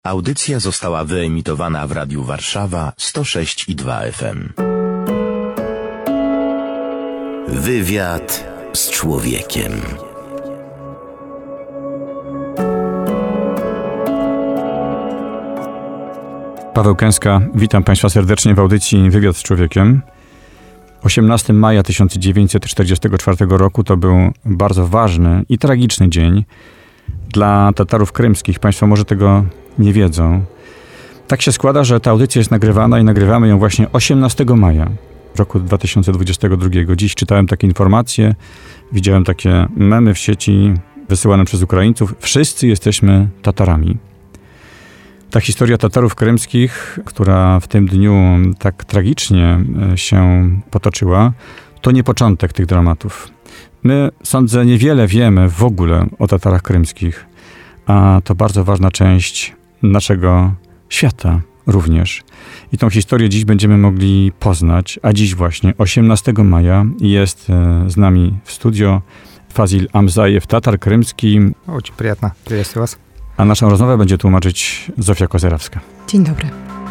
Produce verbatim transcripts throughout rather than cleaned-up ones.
Audycja została wyemitowana w Radiu Warszawa sto sześć i dwa F M. Wywiad z człowiekiem. Paweł Kęska, witam Państwa serdecznie w audycji Wywiad z człowiekiem. osiemnastego maja tysiąc dziewięćset czterdziestego czwartego roku to był bardzo ważny i tragiczny dzień dla Tatarów krymskich. Państwo może tego nie wiedzą. Tak się składa, że ta audycja jest nagrywana i nagrywamy ją właśnie osiemnastego maja roku dwa tysiące dwudziestego drugiego. Dziś czytałem takie informacje, widziałem takie memy w sieci wysyłane przez Ukraińców. Wszyscy jesteśmy Tatarami. Ta historia Tatarów krymskich, która w tym dniu tak tragicznie się potoczyła, to nie początek tych dramatów. My, sądzę, niewiele wiemy w ogóle o Tatarach krymskich, a to bardzo ważna część naszego świata również. I tą historię dziś będziemy mogli poznać, a dziś właśnie, osiemnastego maja, jest z nami w studio Fazil Amzajew, Tatar krymski. Очень приятно. Приветствую вас. A naszą rozmowę będzie tłumaczyć Zofia Kozerawska. Dzień dobry.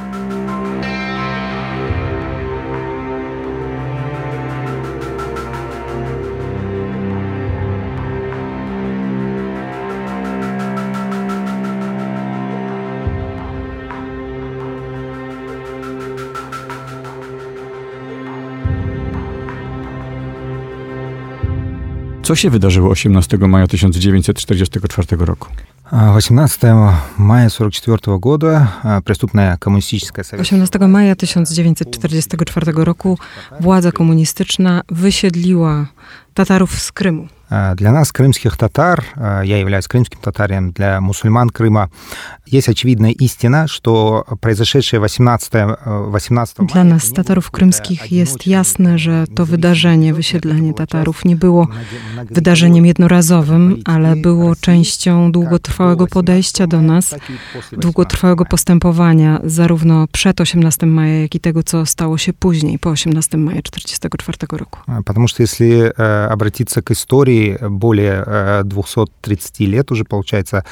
Co się wydarzyło osiemnastego maja tysiąc dziewięćset czterdziestego czwartego roku? osiemnastego maja сорок четвёртого года преступная коммунистическая советская... osiemnastego maja tysiąc dziewięćset czterdziestego czwartego roku władza komunistyczna wysiedliła Tatarów z Krymu. Для нас, крымских татар, я являюсь крымским татарием, для мусульман Крыма, есть очевидная истина, что произошедшее восемнадцатого мая... Dla nas, Tatarów krymskich, jest jasne, że to wydarzenie, wysiedlenie Tatarów nie było wydarzeniem jednorazowym, ale było częścią długotrwałego podejścia do nas, długotrwałego postępowania, zarówno przed osiemnastego maja, jak i tego, co stało się później, po osiemnastego maja czterdziestego czwartego roku. Потому что если обратиться к истории, более двухсот тридцати лет уже, получается,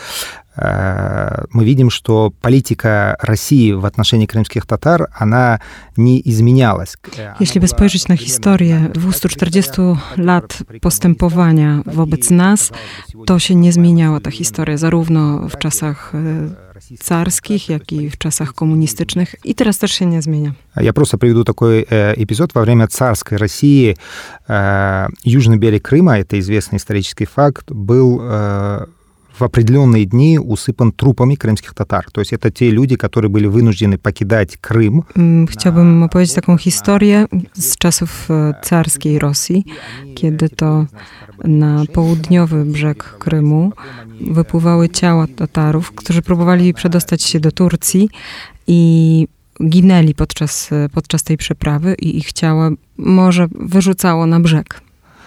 мы видим, что политика России в отношении крымских татар, она nie изменялась. Jeśli by spojrzeć na historię dwustu czterdziestu lat postępowania wobec nas, to się nie zmieniała ta historia, zarówno w czasach царских, jak i w czasach komunistycznych, i teraz też się nie zmienia. Я просто приведу такой эпизод. Во время царской России южный берег Крыма, это известный исторический факт, был в определенные дни усыпан трупами крымских татар. То есть это те люди, которые были wynуждены покидать Крым. Chciałbym opowiedzieć taką historię z czasów carskiej Rosji, kiedy to na południowy brzeg Krymu wypływały ciała Tatarów, którzy próbowali przedostać się do Turcji i ginęli podczas, podczas tej przeprawy i ich ciała morze wyrzucało na brzeg.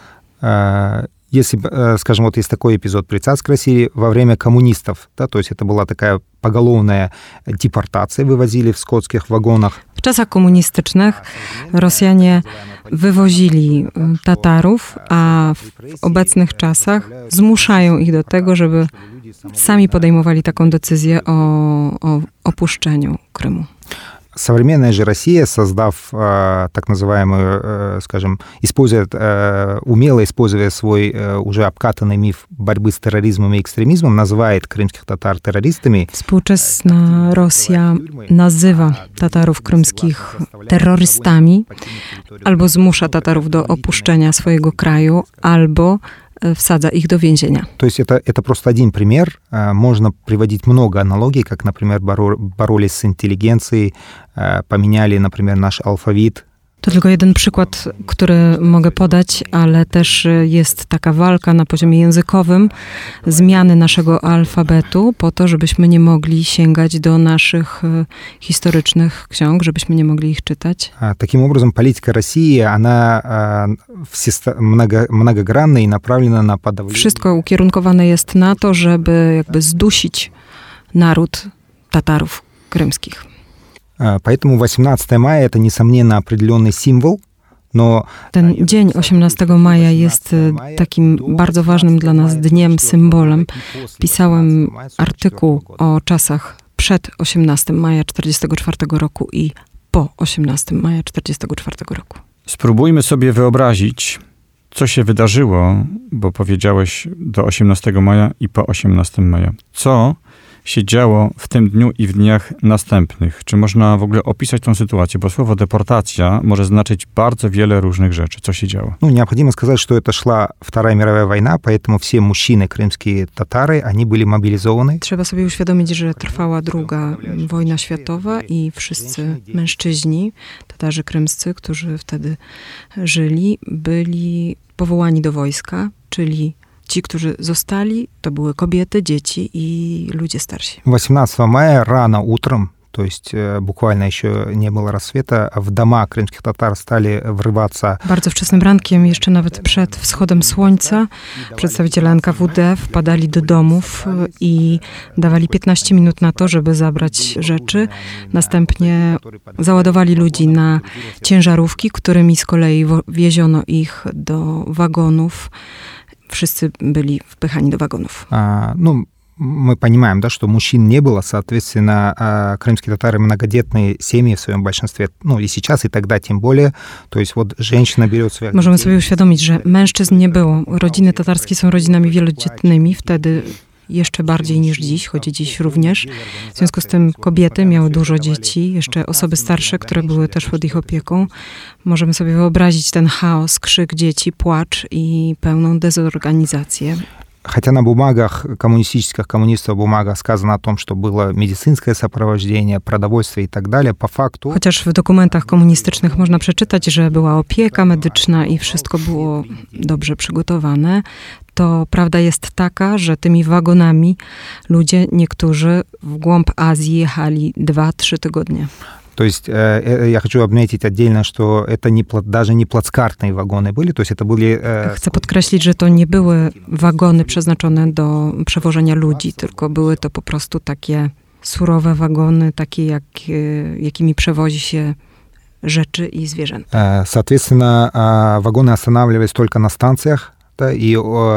Если, скажем, вот есть такой эпизод при царской России во время коммунистов, да, то есть это была такая поголовная депортация, wywozili w skotskich wagonach. W czasach komunistycznych Rosjanie wywozili Tatarów, a w obecnych czasach zmuszają ich do tego, żeby sami podejmowali taką decyzję o, o opuszczeniu Krymu. Современная же Россия, создав э, так называемую, э, скажем, используя, э, умело используя свой э, уже обкатанный миф борьбы с терроризмом и экстремизмом, называет крымских татар террористами. Współczesna Rosja nazywa Tatarów krymskich terrorystami, albo zmusza Tatarów do opuszczenia swojego kraju, albo wsadza ich do więzienia. То есть это, это просто один пример. Можно приводить много аналогий, как, например, боролись с интеллигенцией, поменяли, например, наш алфавит. To tylko jeden przykład, który mogę podać, ale też jest taka walka na poziomie językowym, zmiany naszego alfabetu po to, żebyśmy nie mogli sięgać do naszych historycznych ksiąg, żebyśmy nie mogli ich czytać. Таким образом, политика России, она много, многогранна и направлена на подавление. Wszystko ukierunkowane jest na to, żeby jakby zdusić naród Tatarów krymskich. Поэтому восемнадцатого мая это, несомненно, определенный символ, но... Ten dzień osiemnastego maja jest takim bardzo ważnym dla nas dniem, symbolem. Pisałem artykuł o czasach przed osiemnastego maja tysiąc dziewięćset czterdziestego czwartego roku i po osiemnastego maja tysiąc dziewięćset czterdziestego czwartego roku. Spróbujmy sobie wyobrazić, co się wydarzyło, bo powiedziałeś do osiemnastego maja i po osiemnastego maja. Co się działo w tym dniu i w dniach następnych? Czy można w ogóle opisać tą sytuację? Bo słowo deportacja może znaczyć bardzo wiele różnych rzeczy. Co się działo? Ну, необходимо сказать, что это шла Вторая мировая война, поэтому все мужчины, крымские татары, они были мобилизованы. Trzeba sobie uświadomić, że trwała druga wojna światowa i wszyscy mężczyźni, Tatarzy krymscy, którzy wtedy żyli, byli powołani do wojska, czyli ci, którzy zostali, to były kobiety, dzieci i ludzie starsi. восемнадцатого мая рано утром, то есть буквально еще не было рассвета, в дома крымских татар стали wrywaться. Bardzo wczesnym rankiem, jeszcze nawet przed wschodem słońca, przedstawiciele N K W D wpadali do domów i dawali piętnaście minut na to, żeby zabrać rzeczy. Następnie załadowali ludzi na ciężarówki, którymi z kolei wieziono ich do wagonów. Wszyscy byli wpychani do wagonów. А, ну, мы понимаем, да, что мужчин не было, соответственно, крымские татары многодетные семьи в своем большинстве, ну и сейчас, и тогда тем более, то есть вот женщина берет своих... Możemy sobie uświadomić, że mężczyzn nie było. Rodziny tatarskie są rodzinami wielodzietnymi, wtedy jeszcze bardziej niż dziś, choć dziś również. W związku z tym kobiety miały dużo dzieci, jeszcze osoby starsze, które były też pod ich opieką. Możemy sobie wyobrazić ten chaos, krzyk dzieci, płacz i pełną dezorganizację. Хотя на бумагах коммунистических коммунистов бумагах сказано о том, что было медицинское сопровождение, продовольствие и так далее, по факту... Chociaż w dokumentach komunistycznych można przeczytać, że była opieka medyczna i wszystko było dobrze przygotowane, to prawda jest taka, że tymi wagonami ludzie, niektórzy w głąb Azji jechali dwa, trzy tygodnie. То есть э, я хочу отметить отдельно, что это не, даже не плацкартные вагоны были, то есть это были... Э... Chcę podkreślić, że to nie były wagony przeznaczone do przewożenia ludzi, tylko były to po prostu takie surowe wagony, takie jak, jakimi przewozi się rzeczy i zwierzęta. Соответственно, вагоны останавливались только на станциях, i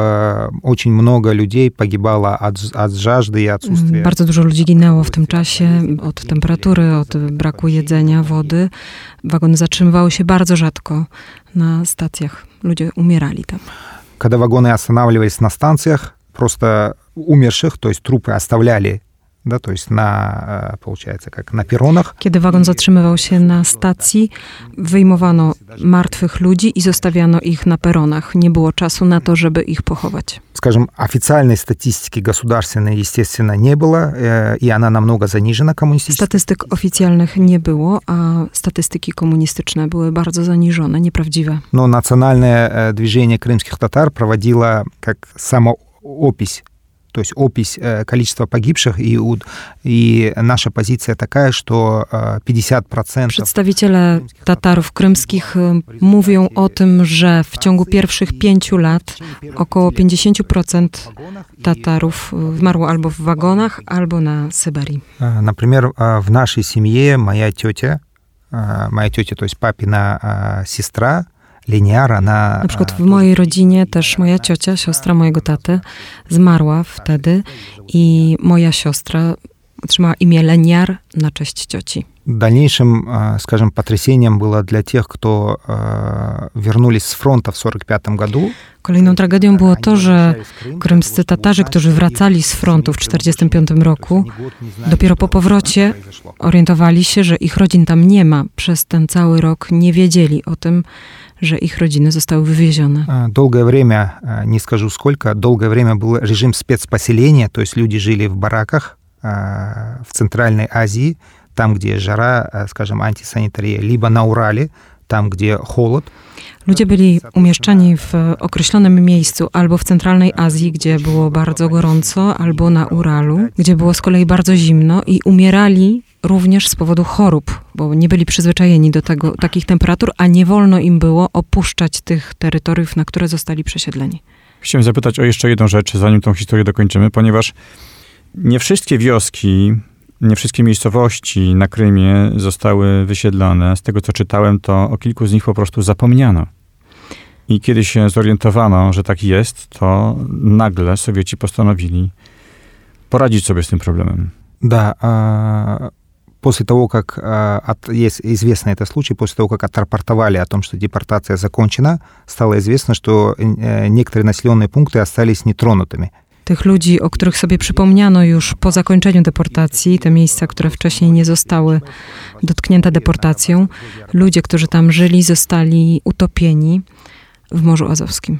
очень много людей погибало от, от жажды и отсутствия. Bardzo dużo ludzi ginęło w tym czasie od temperatury, od braku jedzenia, wody. Wagony zatrzymywały się bardzo rzadko na stacjach. Ludzie umierali tam. Когда вагоны останавливались на станциях, просто умерших, то есть трупы оставляли, да, то есть на, получается, как на перронах. Kiedy wagon zatrzymywał się na stacji, wyjmowano martwych ludzi i zostawiano ich na peronach. Nie było czasu na to, żeby ich pochować. Скажем, официальной статистики государственной, естественно, не было, и она намного занижена коммунистической. Statystyk oficjalnych nie było, a statystyki komunistyczne były bardzo zaniżone, nieprawdziwe. Но национальное движение крымских татар проводило как самоопись, то есть опись количества погибших, и, и наша позиция такая, что pięćdziesiąt procent... Przedstawiciele Tatarów krymskich mówią o tym, że w ciągu pierwszych pięciu lat około pięćdziesiąt procent Tatarów zmarło albo w wagonach, albo na Syberii. Например, в нашей семье моя тетя, моя тетя, то есть папина сестра, Liniara na... Na przykład w mojej rodzinie też moja ciocia, siostra mojego taty, zmarła wtedy i moja siostra otrzymała imię Leniar na cześć cioci. Дальнейшим, скажем, потрясением было для тех, кто вернулись с фронта в сорок пятом году. Kolejną tragedią było to, że krymscy Tatarzy, którzy wracali z frontu w czterdziestym piątym roku, dopiero po powrocie orientowali się, że ich rodzin tam nie ma. Przez ten cały rok nie wiedzieli o tym, że ich rodziny zostały wywiezione. Долгое время, не скажу сколько, долгое время был режим спецпоселения, то есть люди жили в бараках в Центральной Азии, там, где жара, скажем, антисанитария, либо на Урале, tam, gdzie холод. Ludzie byli umieszczani w określonym miejscu, albo w centralnej Azji, gdzie było bardzo gorąco, albo na Uralu, gdzie było z kolei bardzo zimno i umierali również z powodu chorób, bo nie byli przyzwyczajeni do tego, takich temperatur, a nie wolno im było opuszczać tych terytoriów, na które zostali przesiedleni. Chciałem zapytać o jeszcze jedną rzecz, zanim tą historię dokończymy, ponieważ nie wszystkie wioski, nie wszystkie miejscowości na Krymie zostały wysiedlone. Z tego, co czytałem, to o kilku z nich po prostu zapomniano. I kiedy się zorientowano, że tak jest, to nagle Sowieci postanowili poradzić sobie z tym problemem. Да, после того, как от, есть известный это случай, после того, как отрапортовали о том, что депортация закончена, стало известно, что некоторые населенные пункты остались нетронутыми. Tych ludzi, o których sobie przypomniano już po zakończeniu deportacji, te miejsca, które wcześniej nie zostały dotknięte deportacją, ludzie, którzy tam żyli, zostali utopieni w Morzu Azowskim.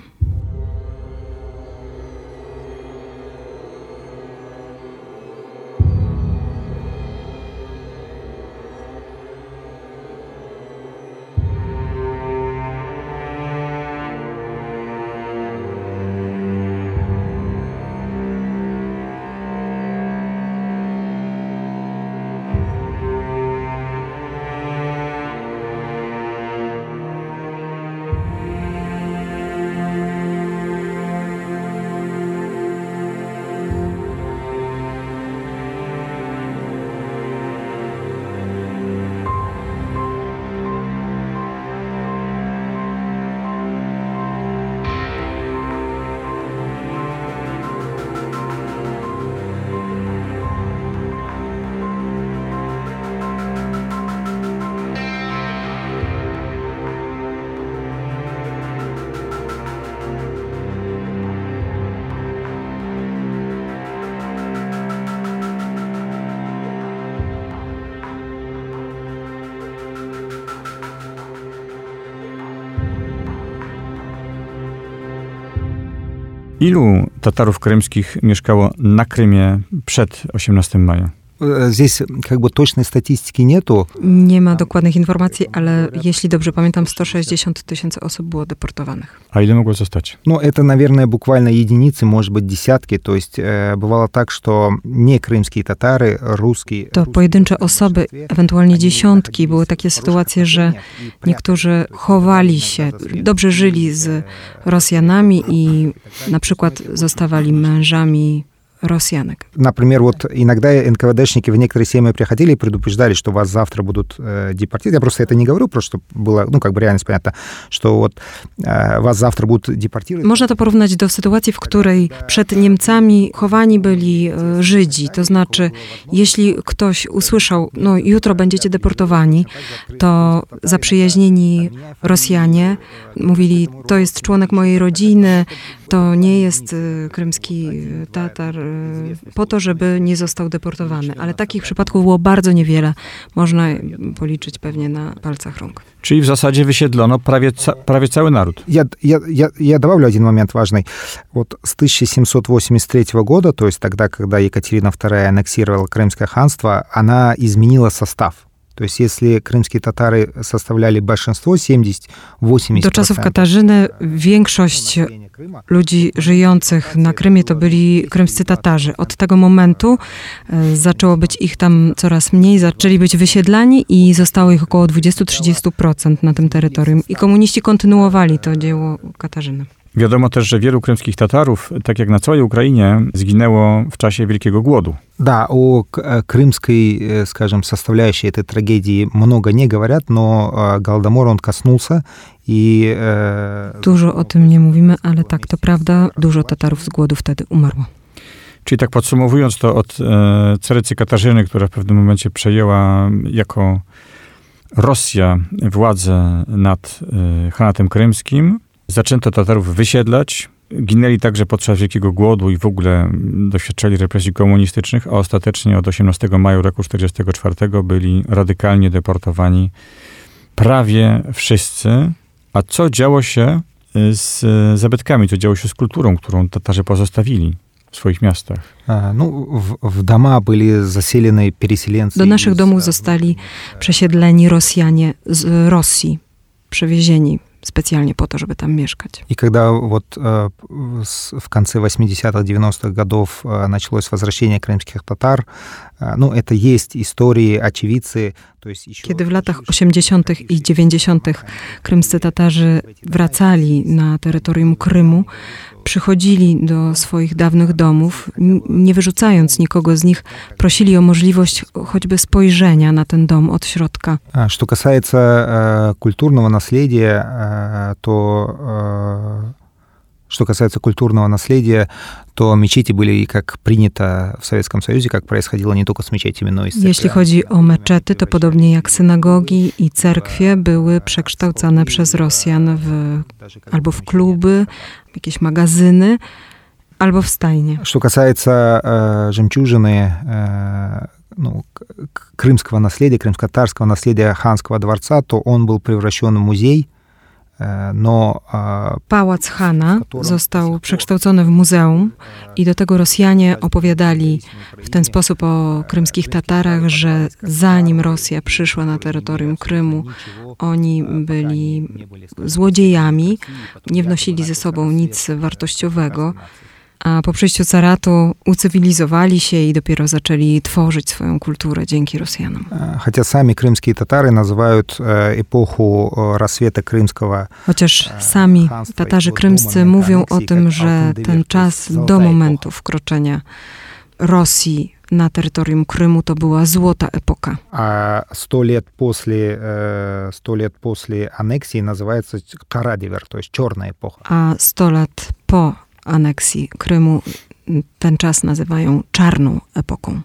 Ilu Tatarów krymskich mieszkało na Krymie przed osiemnastego maja? Здесь как бы точной статистики нету. Nie ma dokładnych informacji, ale jeśli dobrze pamiętam, sto sześćdziesiąt tysięcy osób było deportowanych. A ile mogło zostać? Ну, это, наверное, буквально единицы, может быть, десятки. То есть э, бывало так, что не крымские татары, русские... To pojedyncze osoby, ewentualnie dziesiątki. Były takie sytuacje, że niektórzy chowali się, dobrze żyli z Rosjanami i na przykład zostawali mężami Rosjanek. Например, вот иногда эн ка вэ дэшники в некоторые семьи приходили и предупреждали, что вас завтра будут э, депортировать. Я просто это не говорю, просто чтобы было, ну, как бы реальность понятна, что вот э, вас завтра будут депортировать. Można to porównać do sytuacji, w której przed Niemcami chowani byli e, Żydzi. To znaczy, jeśli ktoś usłyszał, no jutro będziecie deportowani, to zaprzyjaźnieni Rosjanie mówili, to jest członek mojej rodziny, to nie jest e, krymski Tatar, e, po to, żeby nie został deportowany. Ale takich przypadków było bardzo niewiele. Można policzyć pewnie na palcach rąk. Czyli w zasadzie wysiedlono prawie, ca prawie cały naród. Я, я, я, я добавлю один момент важный. Вот с тысяча семьсот восемьдесят третьего года, то есть тогда, когда Екатерина вторая аннексировала Крымское ханство, она изменила состав. То есть если крымские татары составляли большинство, семьдесят восемьдесят процентов... Do czasów Katarzyny większość ludzi żyjących na Krymie to byli krymscy Tatarzy. Od tego momentu e, zaczęło być ich tam coraz mniej, zaczęli być wysiedlani i zostało ich około dwadzieścia do trzydziestu procent na tym terytorium. I komuniści kontynuowali to dzieło Katarzyny. Wiadomo też, że wielu krymskich Tatarów, tak jak na całej Ukrainie, zginęło w czasie Wielkiego Głodu. Да, о крымской, скажем, составляющей этой трагедии много не говорят, но Голодомор, он коснулся i... Dużo o tym nie mówimy, ale tak, to prawda, dużo Tatarów z głodu wtedy umarło. Czyli tak podsumowując to od e, carycy Katarzyny, która w pewnym momencie przejęła jako Rosja władzę nad e, Hanatem Krymskim, zaczęto Tatarów wysiedlać, ginęli także podczas Wielkiego Głodu i w ogóle doświadczali represji komunistycznych, a ostatecznie od osiemnastego maja roku tysiąc dziewięćset czterdziestego czwartego byli radykalnie deportowani prawie wszyscy. A co działo się z zabytkami, co działo się z kulturą, którą Tatarzy pozostawili w swoich miastach? No, w, w doма byli zaселeni переселенцы. Do naszych domów zostali przesiedleni Rosjanie z Rosji, przewiezieni specjalnie po to, żeby там mieszkać. И когда вот в конце восьмидесятых, девяностых годов началось возвращение крымских татар, ну, это есть истории, очевидцы. Kiedy w latach osiemdziesiątych i dziewięćdziesiątych krymscy Tatarzy wracali na terytorium Krymu, przychodzili do swoich dawnych domów, nie wyrzucając nikogo z nich, prosili o możliwość choćby spojrzenia na ten dom od środka. Что касается культурного наследия, то Что касается культурного наследия, то mечети были, как принято в Советском Союзе, как происходило не только с мечетями, но и с Jeśli chodzi o meczety, to podobnie jak synagogi i cerkwie były przekształcane przez Rosjan w, albo w kluby, jakieś magazyny, albo w stajnie. Что касается э, жемчужины, э, ну, крымского наследия, крымско-татарского наследия ханского дворца, то он был превращен в музей. No, Pałac Hana został przekształcony w muzeum i do tego Rosjanie opowiadali w ten sposób o krymskich Tatarach, że zanim Rosja przyszła na terytorium Krymu, oni byli złodziejami, nie wnosili ze sobą nic wartościowego, a po przyjściu caratu ucywilizowali się i dopiero zaczęli tworzyć swoją kulturę dzięki Rosjanom. Хотя сами крымские татары называют эпоху рассвета крымского. Chociaż sami Tatarzy krymscy mówią o tym, że ten czas do momentu wkroczenia Rosji na terytorium Krymu to była złota epoka. A sto lat после, sto lat после аннексии называется Карадивер, то есть черная эпоха. A sto lat po aneksji Krymu ten czas nazywają czarną epoką.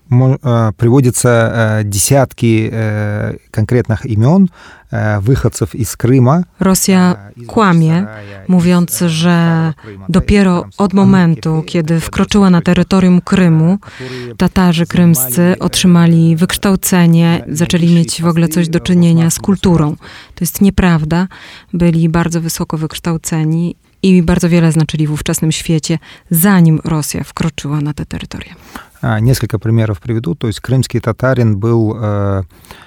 Приводятся десятки конкретных имен wychodców z Kryma. Rosja kłamie, mówiąc, że dopiero od momentu, kiedy wkroczyła na terytorium Krymu, Tatarzy krymscy otrzymali wykształcenie, zaczęli mieć w ogóle coś do czynienia z kulturą. To jest nieprawda. Byli bardzo wysoko wykształceni i bardzo wiele znaczyli w ówczesnym świecie, zanim Rosja wkroczyła na te terytoria. Несколько примеров приведу. То есть крымский татарин был э,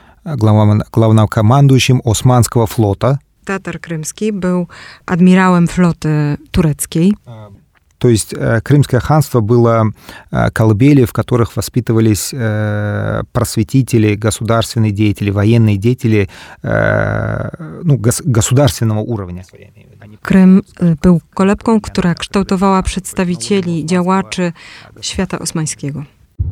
главнокомандующим Османского флота. Tatar krymski był admirałem floty tureckiej. То есть Крымское ханство было колыбелью, в которых воспитывались просветители, государственные деятели, военные деятели ну, государственного уровня. Krym był kolebką, która kształtowała przedstawicieli, działaczy świata osmańskiego.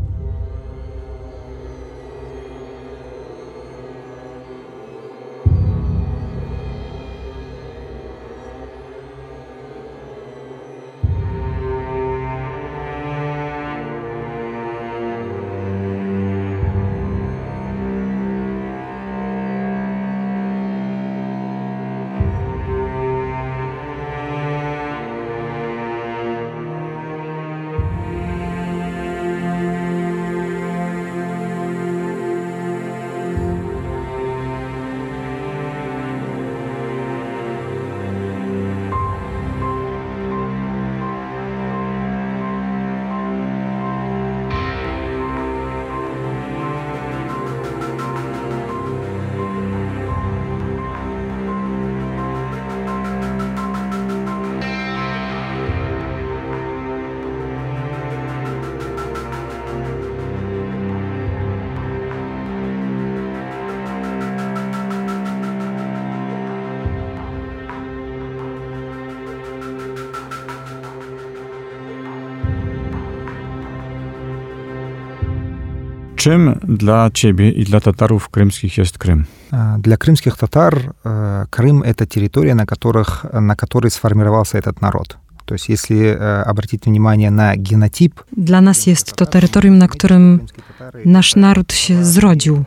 Czym dla ciebie i dla Tatarów krymskich jest Krym? Для крымских татар Крым — это территория, на, которых, на которой сформировался этот народ. То есть если обратить внимание на генотип... Dla nas jest to terytorium, na którym nasz naród się zrodził.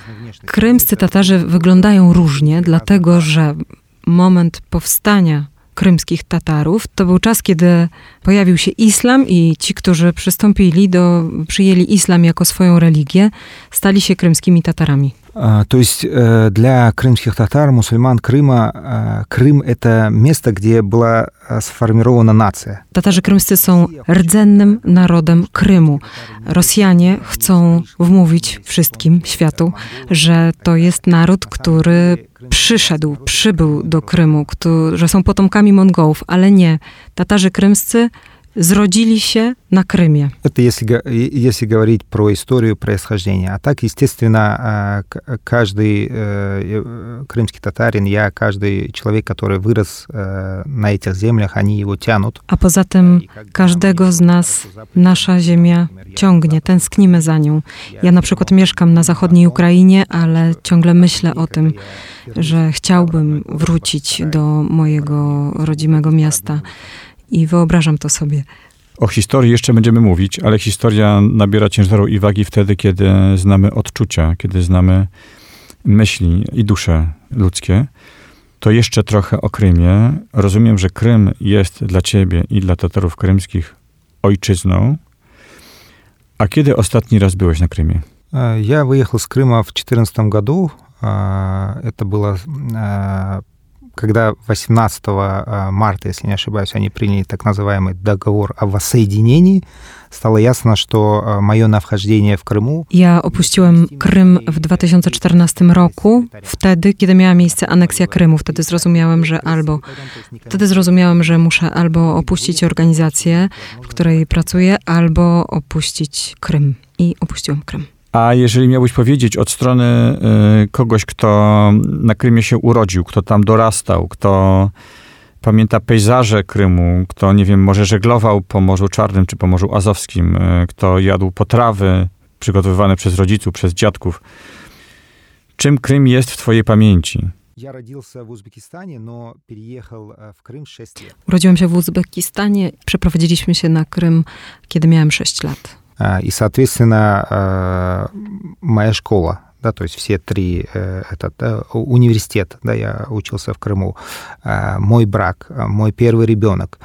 Krymscy Tatarzy wyglądają różnie, dlatego że moment powstania krymskich Tatarów to był czas, kiedy pojawił się islam i ci, którzy przystąpili do, przyjęli islam jako swoją religię, stali się krymskimi Tatarami. То есть для крымских татар, мусульман Крыма, Крым — это место, где была сформирована нация. Tatarzy krymscy są rdzennym narodem Krymu. Rosjanie chcą wmówić wszystkim światu, że to jest naród, który przyszedł, przybył do Krymu, który, że są potomkami Mongołów, ale nie. Tatarzy krymscy zrodzili się na Krymie. Это если, если говорить про историю происхождения. А так, естественно, каждый крымский татарин, я, каждый человек, который вырос на этих землях, они его тянут. A poza tym każdego z nas nasza ziemia ciągnie, tęsknimy za nią. Ja na przykład mieszkam na zachodniej Ukrainie, ale ciągle myślę o tym, że chciałbym wrócić do mojego rodzimego miasta. i wyobrażam to sobie. O historii jeszcze będziemy mówić, ale historia nabiera ciężaru i wagi wtedy, kiedy znamy odczucia, kiedy znamy myśli i dusze ludzkie. To jeszcze trochę o Krymie. Rozumiem, że Krym jest dla ciebie i dla Tatarów krymskich ojczyzną. A kiedy ostatni raz byłeś na Krymie? Я выехал с Крыма в две тысячи четырнадцатом году. Это было, когда восемнадцатого марта, если не ошибаюсь, они приняли так называемый договор о воссоединении. Stało jasne, że moje nawchodzenie w Krymu. Ja opuściłem Krym w dwa tysiące czternastym roku, wtedy, kiedy miała miejsce aneksja Krymu. Wtedy zrozumiałem, że albo wtedy zrozumiałem, że muszę albo opuścić organizację, w której pracuję, albo opuścić Krym. I opuściłem Krym. A jeżeli miałbyś powiedzieć od strony y, kogoś, kto na Krymie się urodził, kto tam dorastał, kto pamięta pejzaże Krymu, kto, nie wiem, może żeglował po Morzu Czarnym czy po Morzu Azowskim, y, kto jadł potrawy przygotowywane przez rodziców, przez dziadków. Czym Krym jest w twojej pamięci? Ja родился в Узбекистане, но переехал в Крым шесть лет. Urodziłem się w Uzbekistanie, przeprowadziliśmy się na Krym, kiedy miałem sześć lat. И, соответственно, моя школа, да, то есть все три, этот университет, да, я учился в Крыму, мой брак, мой первый ребенок.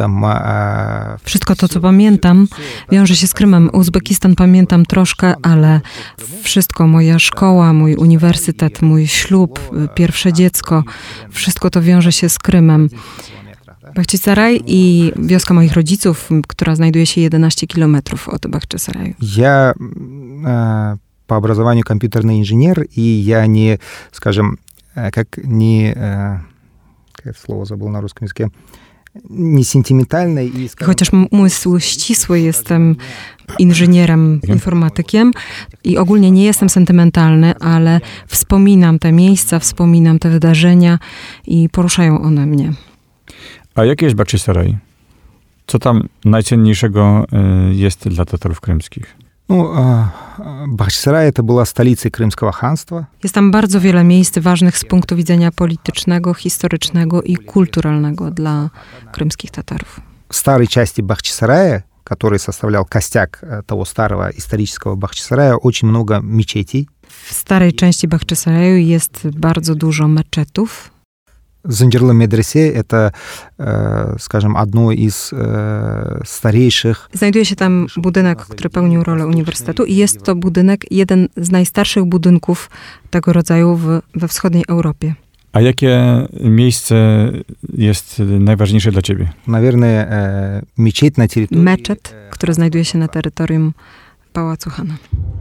Да, Wszystko to, co pamiętam, wiąże się z Krymem. Uzbekistan pamiętam troszkę, ale wszystko, moja szkoła, mój uniwersytet, mój ślub, pierwsze dziecko, wszystko to wiąże się z Krymem. Бахчисарай i wioska moich rodziców, która znajduje się jedenaście kilometrów od Бахчисараю. Я э, по образованию компьютерный инженер, и я не, скажем, как не, э, как это слово забыл на русском языке, nie sentymentalny i... Chociaż umysł ścisły, jestem inżynierem, informatykiem i ogólnie nie jestem sentymentalny, ale wspominam te miejsca, wspominam te wydarzenia i poruszają one mnie. A jaki jest Bachchisaraj? Co tam najcenniejszego jest dla Tatarów krymskich? Ну, Бахчисарай это была столицей Крымского ханства. Jest tam bardzo wiele miejsc ważnych z punktu widzenia politycznego, historycznego i kulturalnego dla krymskich Tatarów. В старой части Бахчисарая, который составлял костяк того старого исторического Бахчисарая, очень много мечетей. W starej części Bachchisaraju jest bardzo dużo meczetów. Занджерлы медресе — это, скажем, одно из старейших. Znajduje się tam budynek, który pełnił rolę uniwersytetu i jest to budynek, jeden z najstarszych budynków tego rodzaju w, we wschodniej Europie. A jakie miejsce jest najważniejsze dla ciebie? Наверное, мечеть на территории... Meczet, który znajduje się na terytorium Pałacu Hana.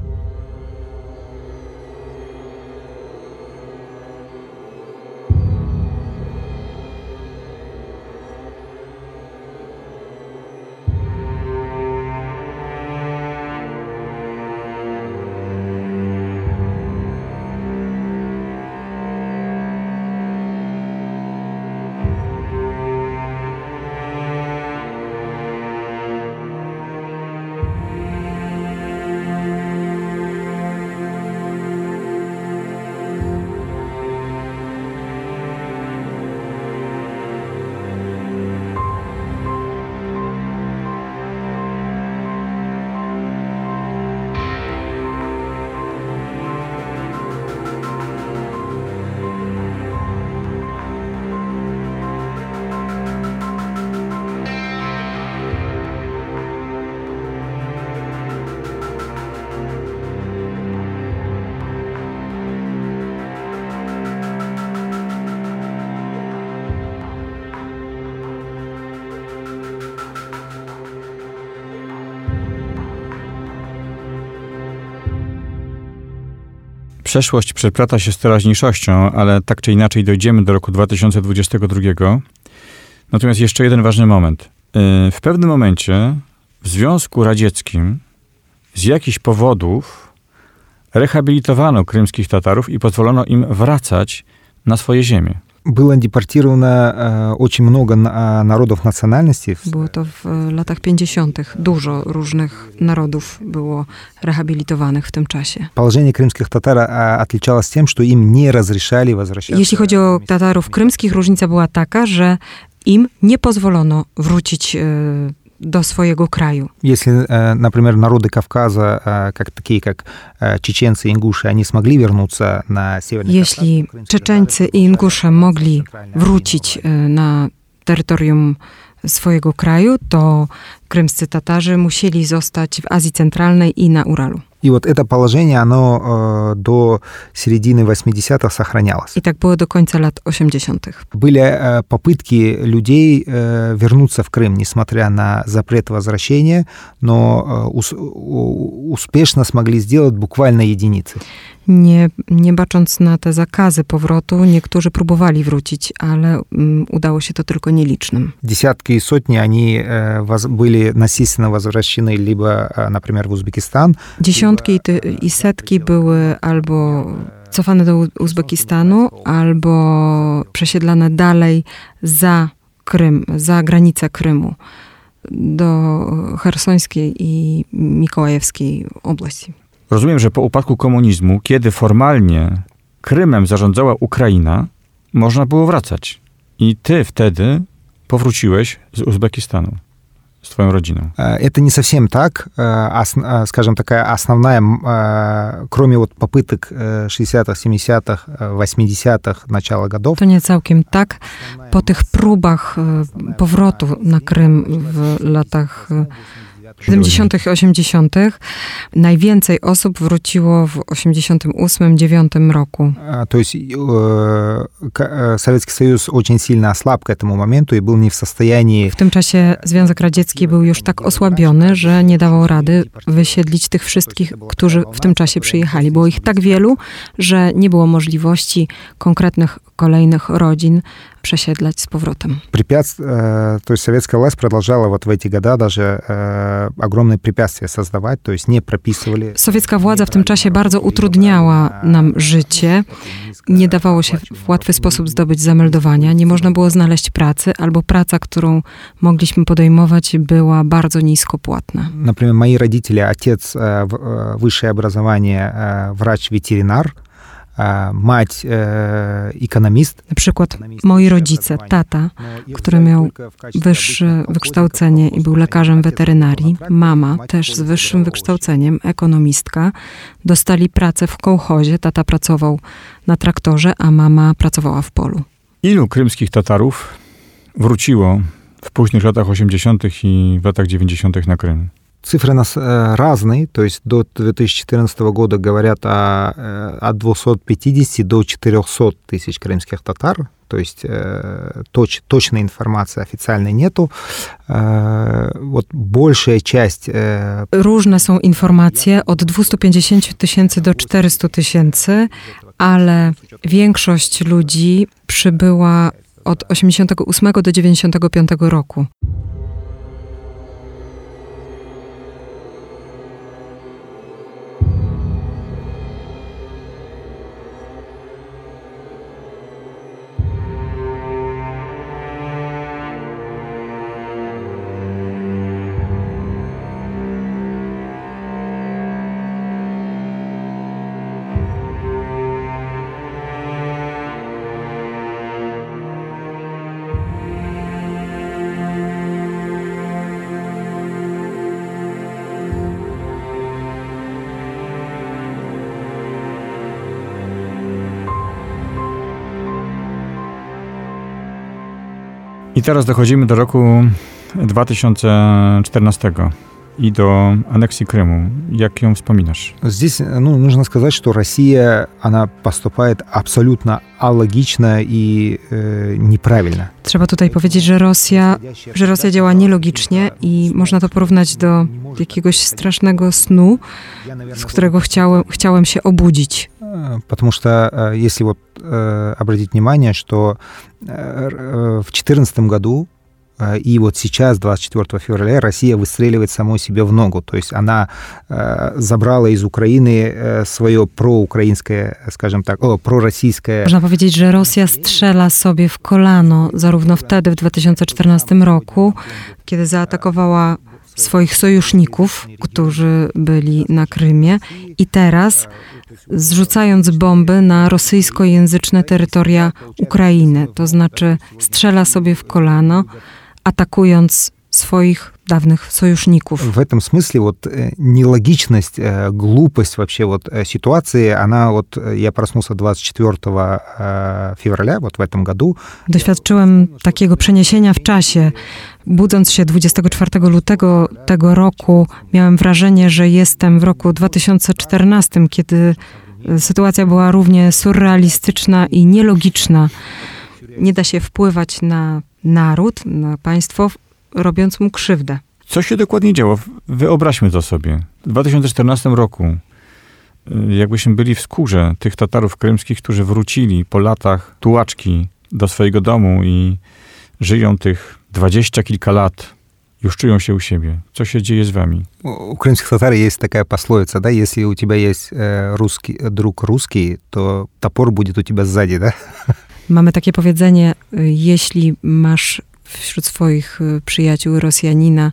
Przeszłość przeplata się z teraźniejszością, ale tak czy inaczej dojdziemy do roku dwa tysiące dwudziestego drugiego. Natomiast jeszcze jeden ważny moment. W pewnym momencie w Związku Radzieckim z jakichś powodów rehabilitowano krymskich Tatarów i pozwolono im wracać na swoje ziemię. Было депортировано очень много народов национальностей. Było to w latach pięćdziesiątych. Dużo różnych narodów było rehabilitowanych w tym czasie. Положение крымских татар отличалось тем, что им не разрешали возвращаться. Jeśli chodzi o Tatarów krymskich, różnica była taka, że im nie pozwolono wrócić do swojego kraju. Если, например, народы Кавказа, как такие как чеченцы и ингуши, они смогли вернуться на Северный Кавказ. Jeśli Czeczeńcy i Ingusze mogli wrócić na terytorium swojego kraju, to krymscy Tatarzy musieli zostać w Azji Centralnej i na Uralu. И вот это положение, оно э, до середины восьмидесятых сохранялось. I tak było do końca lat osiemdziesiątych. Были э, попытки людей э, вернуться в Крым, несмотря на запрет возвращения, но э, ус, успешно смогли сделать буквально единицы. Nie, nie bacząc na te zakazy powrotu, niektórzy próbowali wrócić, ale um, udało się to tylko nielicznym. Десятки и сотни, они э, воз, были насильственно возвращены либо, э, например, в Узбекистан. Dziesiątki i, ty, i setki były albo cofane do Uzbekistanu, albo przesiedlane dalej za Krym, za granicę Krymu, do chersońskiej i mikołajewskiej oblasti. Rozumiem, że po upadku komunizmu, kiedy formalnie Krymem zarządzała Ukraina, można było wracać. I ty wtedy powróciłeś z Uzbekistanu z twoją rodziną. Это не совсем так. Скажем, такая основная, кроме вот попыток шестидесятых, семидесятых, восьмидесятых, начала годов. To nie całkiem tak. Po tych próbach powrotu na Krym w latach siedemdziesiątych i osiemdziesiątych najwięcej osób wróciło w osiemdziesiątym ósmym dziewiątym roku. То есть Советский Союз очень сильно ослаб к этому моменту и был не в состоянии. W tym czasie Związek Radziecki był już tak osłabiony, że nie dawał rady wysiedlić tych wszystkich, którzy w tym czasie przyjechali. Było ich tak wielu, że nie było możliwości konkretnych kolejnych rodzin przesiedlać z powrotem. Препятствия, то есть советская власть продолжала вот в эти года даже огромные препятствия создавать, то есть не прописывали. Sowiecka władza w tym czasie bardzo utrudniała nam życie. Nie dawało się w łatwy sposób zdobyć zameldowania. Nie można było znaleźć pracy, albo praca, którą mogliśmy podejmować, była bardzo nisko płatna. Например, мои родители, отец высшее образование, врач-ветеринар, mać ekonomist. Na przykład moi rodzice, tata, który miał wyższe wykształcenie i był lekarzem weterynarii, mama też z wyższym wykształceniem, ekonomistka, dostali pracę w kołchozie. Tata pracował na traktorze, a mama pracowała w polu. Ilu krymskich Tatarów wróciło w późnych latach osiemdziesiątych i w latach dziewięćdziesiątych na Krym? Цифры нас разные, то есть до две тысячи четырнадцатого года говорят о, от двухсот пятидесяти до четырехсот тысяч крымских татар, то есть точ, точной информации официальной нету. Вот большая часть... Różne są informacje, od dwustu pięćdziesięciu tysięcy do czterystu tysięcy, ale większość ludzi przybyła od osiemdziesiątego ósmego do dziewięćdziesiątego piątego roku. I teraz dochodzimy do roku dwa tysiące czternastego i do aneksji Krymu. Jak ją wspominasz? Здесь, ну, нужно сказать, что Россия, она поступает абсолютно алогично и э, неправильно. Trzeba tutaj powiedzieć, że Rosja, że Rosja działa nielogicznie i można to porównać do jakiegoś strasznego snu, z którego chciałem, chciałem się obudzić. Потому что, если вот обратить внимание, что в две тысячи четырнадцатом году и вот сейчас, двадцать четвёртого февраля, Россия выстреливает самой себе в ногу. То есть она забрала из Украины свое проукраинское, скажем так, о, пророссийское... Można powiedzieć, że Rosja strzela sobie w kolano, zarówno wtedy, w dwa tysiące czternastym roku, kiedy zaatakowała swoich sojuszników, którzy byli na Krymie i teraz zrzucając bomby na rosyjskojęzyczne terytoria Ukrainy, to znaczy strzela sobie w kolano, atakując swoих давних союзников. В этом смысле вот нелогичность, глупость вообще вот ситуации, она вот, я проснулся двадцать четвёртого февраля, вот в этом году. Doświadczyłem takiego przeniesienia w czasie. Budząc się dwudziestego czwartego lutego tego roku, miałem wrażenie, że jestem w roku dwa tysiące czternastym, kiedy sytuacja była równie surrealistyczna i nielogiczna. Nie da się wpływać na naród, na państwo, robiąc mu krzywdę. Co się dokładnie działo? Wyobraźmy to sobie. W dwa tysiące czternastym roku, jakbyśmy byli w skórze tych Tatarów krymskich, którzy wrócili po latach tułaczki do swojego domu i żyją tych dwadzieścia kilka lat, już czują się u siebie. Co się dzieje z wami? У крымских татар есть такая пословица, да, если у тебя есть русский, друг русский, то топор будет у тебя сзади, да? Mamy takie powiedzenie, jeśli masz wśród swoich przyjaciół Rosjanina,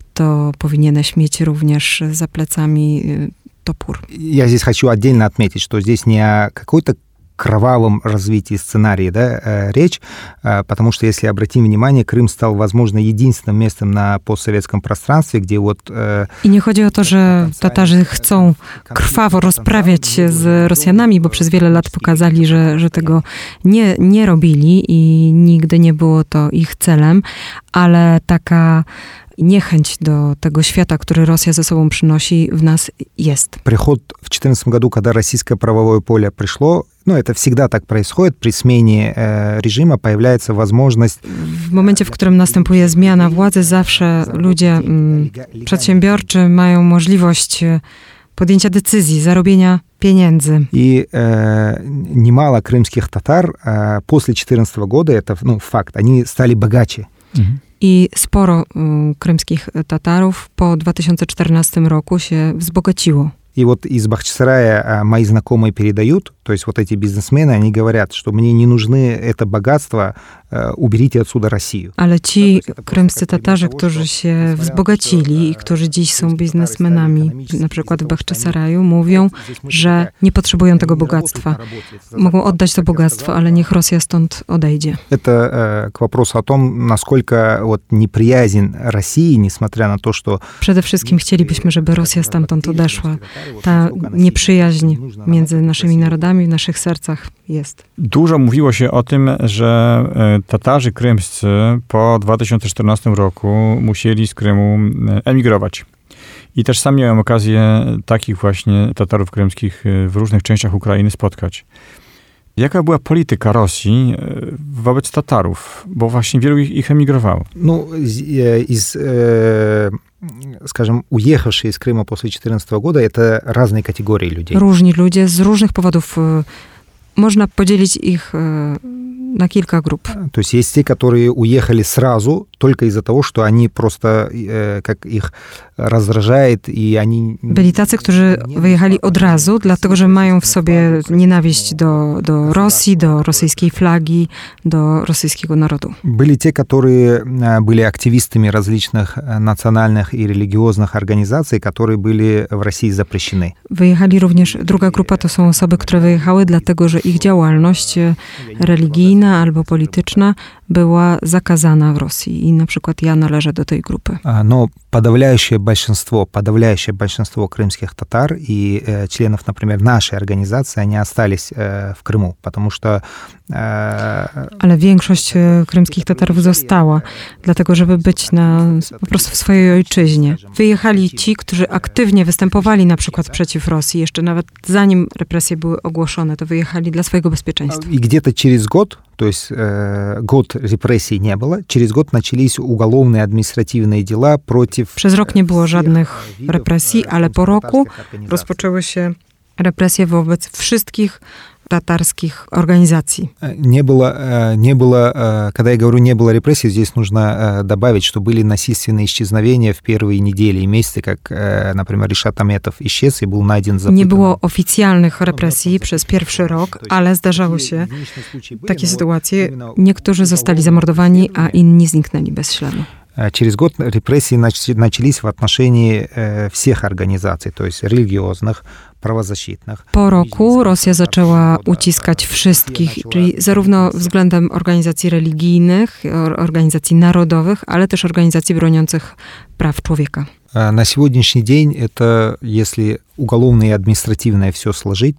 to powinieneś mieć również za plecami topór. Я здесь хочу отдельно отметить, что здесь не о какой-то кровавом развитии сценария, да, речь, потому что, если обратим внимание, Крым стал, возможно, единственным местом на постсоветском пространстве, где вот... I nie chodzi o to, że Tatarzy chcą krwawo rozprawiać się z Rosjanami, bo przez wiele lat pokazali, że, że tego nie, nie robili i nigdy nie było to ich celem, ale taka niechęć do tego świata, który Rosja ze sobą przynosi, w nas jest. Приход в две тысячи четырнадцатом году, когда российское правовое поле пришло, ну, это всегда так происходит, при смене э, режима появляется возможность... W momencie, w którym następuje zmiana władzy, zawsze ludzie mm, przedsiębiorczy mają możliwość podjęcia decyzji, zarobienia pieniędzy. И э, немало крымских татар э, после две тысячи четырнадцатого года, это, ну, факт, они стали богаче. Mhm. I sporo y, krymskich Tatarów po dwa tysiące czternastym roku się wzbogaciło. И вот из Бахчисарая мои знакомые передают, то есть вот эти бизнесмены, они говорят, что мне не нужны это богатство, уберите отсюда Россию. Ale ci krymscy Tatarzy, którzy się wzbogacili i którzy dziś są biznesmenami, na przykład w Bachczysaraju, mówią, że nie potrzebują tego bogactwa. Mogą oddać to bogactwo, ale niech Rosja stąd odejdzie. Это к вопросу о том, насколько вот неприязнь России, несмотря на то, что... Przede wszystkim chcielibyśmy, żeby Rosja stamtąd odeszła. Ta nieprzyjaźń między naszymi narodami w naszych sercach jest. Dużo mówiło się o tym, że Tatarzy krymscy po dwa tysiące czternastym roku musieli z Krymu emigrować. I też sam miałem okazję takich właśnie Tatarów krymskich w różnych częściach Ukrainy spotkać. Jaka była polityka Rosji wobec Tatarów? Bo właśnie wielu ich, ich emigrowało. Ну, из, скажем, уехавшие из Крыма после две тысячи четырнадцатого года, это разные категории людей. Różni ludzie z różnych powodów. Można podzielić ich на kilka grup. То есть есть те, которые уехали сразу, только из-за того, что они просто, как их раздражает, и они... Byli tacy, którzy wyjechali od razu, dlatego że mają w sobie nienawiść do, do Rosji, do rosyjskiej flagi, do rosyjskiego narodu. Были те, которые были активистами различных национальных и религиозных организаций, которые были в России запрещены. Wyjechali również, druga grupa to są osoby, które wyjechały dlatego, że ich działalność religijna albo polityczna była zakazana w Rosji. I na przykład ja należę do tej grupy. Но подавляющее большинство, подавляющее большинство крымских татар и э, членов, например, нашей организации, они остались э, в Крыму, потому что... Э, Ale większość krymskich Tatarów została, dlatego żeby być na, po prostu w swojej ojczyźnie. Wyjechali ci, którzy aktywnie występowali na przykład przeciw Rosji, jeszcze nawet zanim represje były ogłoszone, to wyjechali dla swojego bezpieczeństwa. И где-то через год, то есть э, год репрессий не было, через год начались уголовные административные дела против... Przez rok nie było żadnych represji, ale po roku rozpoczęły się represje wobec wszystkich татарских организаций. Не было, не было, когда я говорю не было репрессий, здесь нужно добавить, что были насильственные исчезновения в первые недели и месяцы, как, например, Ришат Аметов исчез и был найден запытанным. Nie było oficjalnych represji przez pierwszy rok, ale zdarzały się takie sytuacje. Niektórzy zostali zamordowani, a inni zniknęli bez śladu. Через год репрессии начались в отношении всех организаций, то есть религиозных, правозащитnych. Po roku Rosja zaczęła uciskać wszystkich, czyli zarówno względem organizacji religijnych, organizacji narodowych, ale też organizacji broniących praw człowieka. На сегодняшний день это, если уголовное и административное все сложить,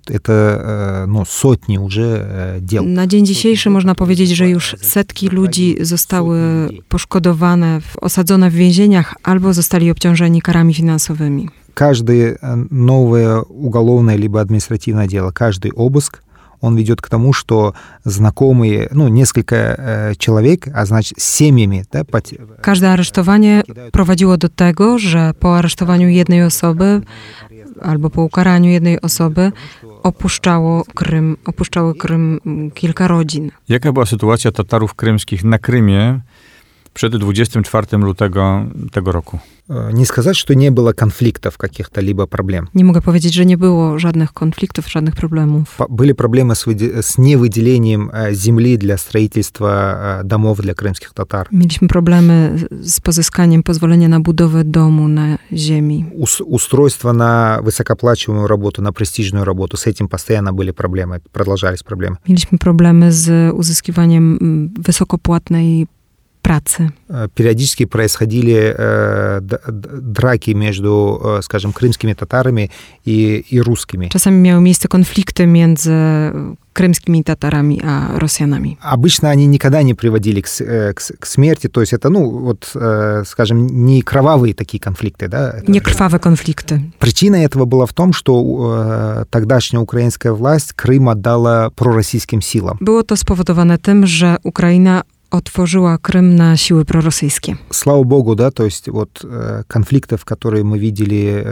это ну, сотни уже дел. Na dzień dzisiejszy można powiedzieć, że już setki ludzi zostały poszkodowane, osadzone w więzieniach albo zostali obciążeni karami finansowymi. Каждое новое уголовное либо административное дело, каждый обыск, он ведет к тому, что знакомые, ну, несколько э, человек, а значит, с семьями... Да, пот... Każde aresztowanie prowadziło do tego, że po aresztowaniu jednej osoby albo po ukaraniu jednej osoby opuszczało Krym, opuszczało Krym kilka rodzin. Jaka była sytuacja Tatarów krymskich na Krymie przed dwudziestego czwartego lutego tego roku? Не сказать, что не было конфликтов каких-то либо проблем. Nie mogę powiedzieć, że nie było żadnych konfliktów, żadnych problemów. Были проблемы с, выде... с невыделением земли для строительства домов для крымских татар. Mieliśmy problemy z pozyskaniem pozwolenia na budowę domu na ziemi. Ус... Устройство на высокооплачиваемую работу, на престижную работу, с этим постоянно были проблемы, продолжались проблемы. Mieliśmy problemy z uzyskiwaniem wysokopłatnej pracy. Периодически происходили э, драки между, э, скажем, крымскими татарами и, и русскими. Czasami miały miejsce konflikty między крымскими татарами a Rosjanami. Обычно они никогда не приводили к, к, к смерти, то есть это, ну, вот, э, скажем, не кровавые такие конфликты, да? Nie krwawe konflikty. Причина этого была в том, что э, тогдашняя украинская власть Крым отдала пророссийским силам. Było to spowodowane tym, że Ukraina otworzyła Krym na siły prorosyjskie. Слава Богу, да, то есть вот э, конфликтов, которые мы видели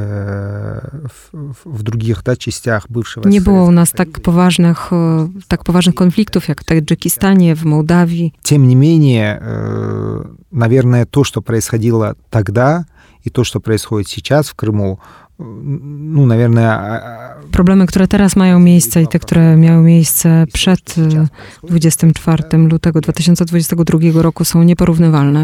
э, в, в других, да, частях бывшего... Nie było u nas tak poważnych, tak poważnych konfliktów, jak w Tadżykistanie, w Mołdawii. Тем не менее, э, наверное, то, что происходило тогда, и то, что происходит сейчас в Крыму, ну, наверное... Problemy, które teraz mają miejsce i te, które miały miejsce przed dwudziestego czwartego lutego dwa tysiące dwudziestego drugiego roku są nieporównywalne.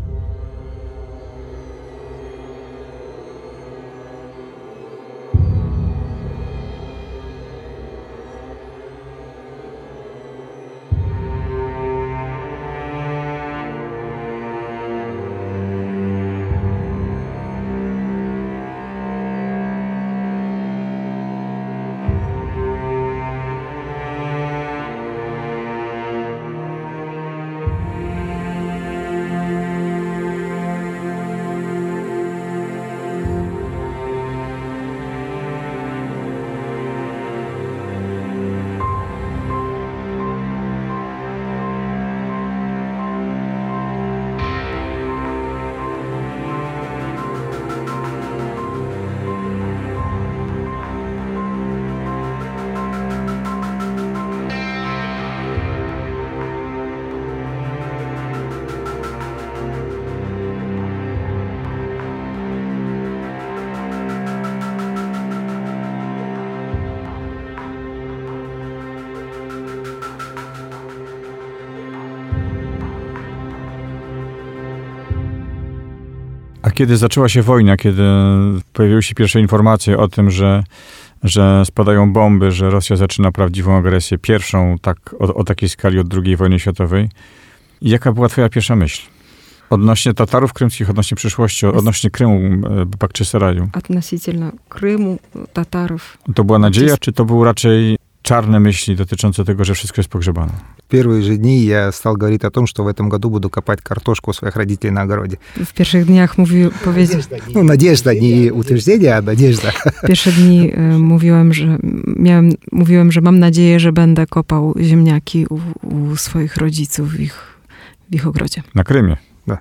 A kiedy zaczęła się wojna, kiedy pojawiły się pierwsze informacje o tym, że, że spadają bomby, że Rosja zaczyna prawdziwą agresję, pierwszą tak, o, o takiej skali od drugiej wojny światowej, jaka była twoja pierwsza myśl? Odnośnie Tatarów krymskich, odnośnie przyszłości, odnośnie Krymu, Bakczysaraju. Относительно Крыму, татаров. To była nadzieja, czy to były raczej czarne myśli dotyczące tego, że wszystko jest pogrzebane? В первые же дни я стал говорить о том, что в этом году буду копать картошку у своих родителей на огороде. W pierwszych dniach mówił, powiedział... Ну, надежда, не утверждение, а надежда. W pierwsze dni y, mówiłem, że miałem, mówiłem, że mam nadzieję, że będę kopał ziemniaki u, u swoich rodziców w ich, w ich ogrodzie. Na Krymie. Да.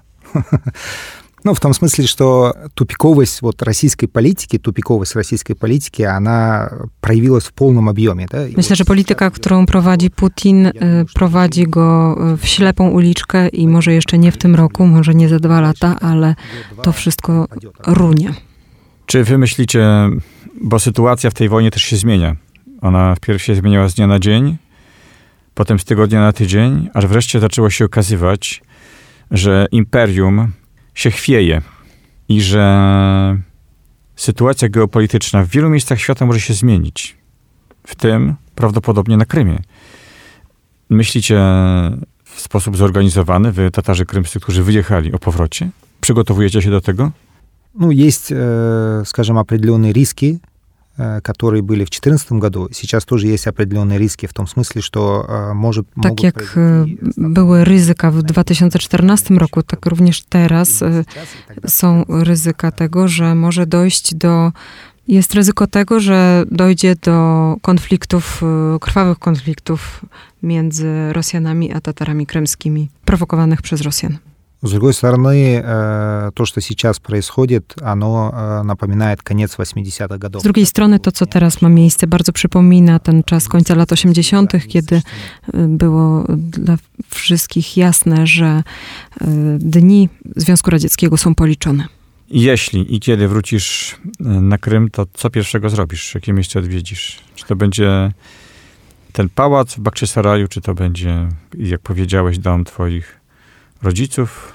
Ну, в том смысле, что тупиковость вот российской политики, тупиковость российской политики, она проявилась в полном объеме. Да? Myślę, że polityka, którą prowadzi Putin, prowadzi go w ślepą uliczkę i może jeszcze nie w tym roku, może nie za dwa lata, ale to wszystko runie. Czy wy myślicie, bo sytuacja w tej wojnie też się zmienia. Ona wpierw się zmieniała z dnia na dzień, potem z tygodnia na tydzień, aż wreszcie zaczęło się okazywać, że imperium się chwieje i że sytuacja geopolityczna w wielu miejscach świata może się zmienić. W tym prawdopodobnie na Krymie. Myślicie w sposób zorganizowany, wy Tatarzy krymscy, którzy wyjechali, o powrocie? Przygotowujecie się do tego? Ну, есть, э, скажем, определенные риски, э, которые были в две тысячи четырнадцатом году. Сейчас тоже есть определенные риски в том смысле, что э, может... Tak jak e, były ryzyka w dwa tysiące czternastym roku, tak również teraz e, są ryzyka tego, że może dojść do... Jest ryzyko tego, że dojdzie do konfliktów, e, krwawych konfliktów między Rosjanami a Tatarami krymskimi, prowokowanych przez Rosjan. С другой стороны, то, что сейчас происходит, оно напоминает конец восьмидесятых годов. Z drugiej strony to, co teraz ma miejsce, bardzo przypomina ten czas końca lat osiemdziesiątych, kiedy było dla wszystkich jasne, że dni Związku Radzieckiego są policzone. Jeśli i kiedy wrócisz na Krym, to co pierwszego zrobisz? Jakie miejsce odwiedzisz? Czy to będzie ten pałac w Bakczysaraju, czy to będzie, jak powiedziałeś, dom twoich rodziców?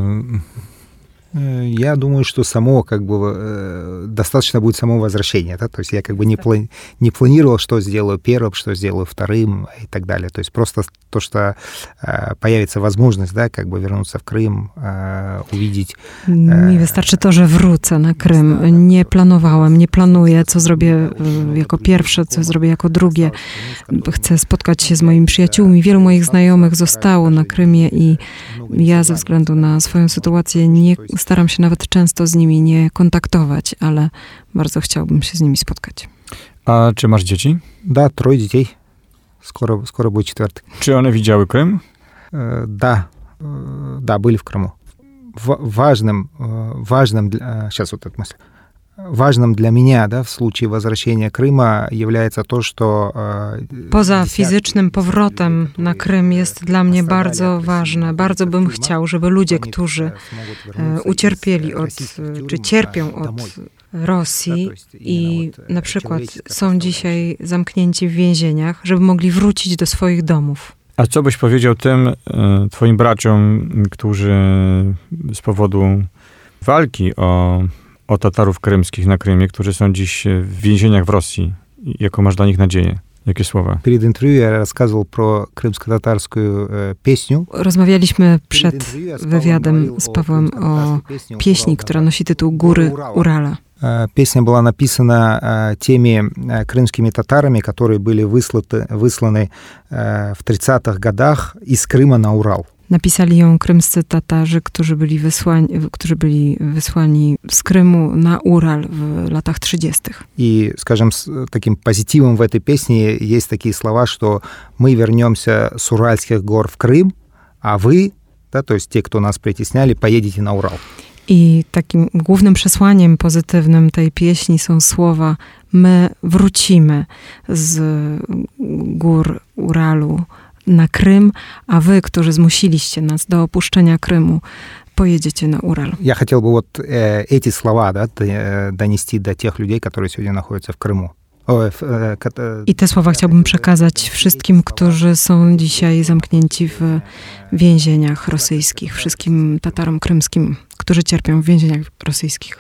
Я думаю, что само, как бы, достаточно будет само возвращение, да, то есть я как бы не, плани- не планировал, что сделаю первым, что сделаю вторым и так далее, то есть просто то, что появится возможность, да, как бы вернуться в Крым, увидеть. Mi wystarczy to, że wrócę na Krym. Nie planowałem, nie planuję, co zrobię jako pierwsze, co zrobię jako drugie. Chcę spotkać się z moimi przyjaciółmi. Wielu moich znajomych zostało na Krymie i ja ze względu na swoją sytuację nie staram się nawet często z nimi nie kontaktować, ale bardzo chciałbym się z nimi spotkać. A czy masz dzieci? Да, трое детей. Скоро, скоро будет четвертый. Czy one widziały Krym? Да, да, были в Крыму. Важным, важным, сейчас вот эта мысль. Ważnym dla mnie, да, w случае возвращения Крыма является то, что... Poza fizycznym powrotem na Krym jest dla mnie bardzo ważne. Bardzo bym chciał, żeby ludzie, którzy ucierpieli od, czy cierpią od Rosji i na przykład są dzisiaj zamknięci w więzieniach, żeby mogli wrócić do swoich domów. A co byś powiedział tym e, twoim braciom, którzy z powodu walki o o Tatarów krymskich na Krymie, którzy są dziś w więzieniach w Rosji. Jaką masz dla nich nadzieję? Jakie słowa? Перед интервью я рассказывал про крымско-татарскую песню. Rozmawialiśmy przed wywiadem z Pawłem o pieśni, która nosi tytuł Góry Urala. Песня была написана теми крымскими татарами, которые были высланы, высланы в тридцатых годах из Крыма на Урал. Napisali ją krymscy Tatarzy, którzy byli wysłani, którzy byli wysłani z Krymu na Ural w latach trzydziestych. И, скажем, таким позитивом в этой песне есть такие слова, что мы вернемся с Уральских гор в Крым, а вы, да, то есть те, кто нас притесняли, поедете на Урал. I takim głównym przesłaniem pozytywnym tej pieśni są słowa: my wrócimy z gór Uralu na Крым, а вы, którzy zmusiliście nas do opuszczenia Krymu, поедете на Урал. Я хотел бы вот э, эти слова, да, донести до тех людей, которые сегодня находятся в Крыму. I te słowa chciałbym przekazać wszystkim, którzy są dzisiaj zamknięci w więzieniach rosyjskich, wszystkim Tatarom krymskim, którzy cierpią w więzieniach rosyjskich.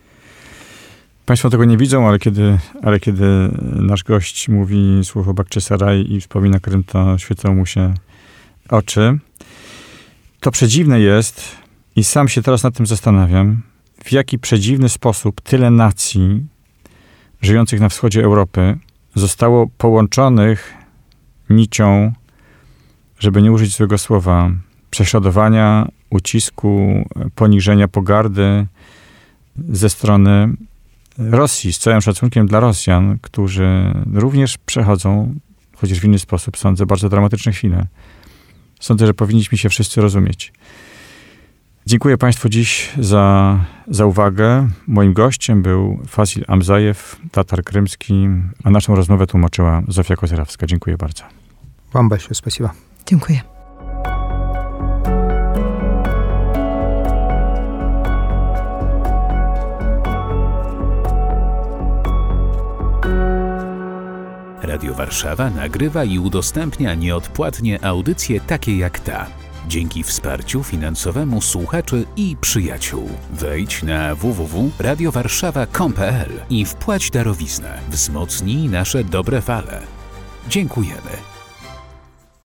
Państwo tego nie widzą, ale kiedy, ale kiedy nasz gość mówi słowo Bakczysaraj i wspomina Krym, to świecą mu się oczy. To przedziwne jest i sam się teraz nad tym zastanawiam, w jaki przedziwny sposób tyle nacji żyjących na wschodzie Europy zostało połączonych nicią, żeby nie użyć złego słowa, prześladowania, ucisku, poniżenia, pogardy ze strony Rosji, z całym szacunkiem dla Rosjan, którzy również przechodzą, chociaż w inny sposób, sądzę, bardzo dramatyczne chwile. Sądzę, że powinniśmy się wszyscy rozumieć. Dziękuję Państwu dziś za, za uwagę. Moim gościem był Fasil Amzajew, Tatar krymski, a naszą rozmowę tłumaczyła Zofia Kozerawska. Dziękuję bardzo. Вам большое спасибо. Dziękuję. Radio Warszawa nagrywa i udostępnia nieodpłatnie audycje takie jak ta. dzięki wsparciu finansowemu słuchaczy i przyjaciół. Wejdź na w w w kropka radio warszawa kropka com kropka p l i wpłać darowiznę. Wzmocnij nasze dobre fale. Dziękujemy.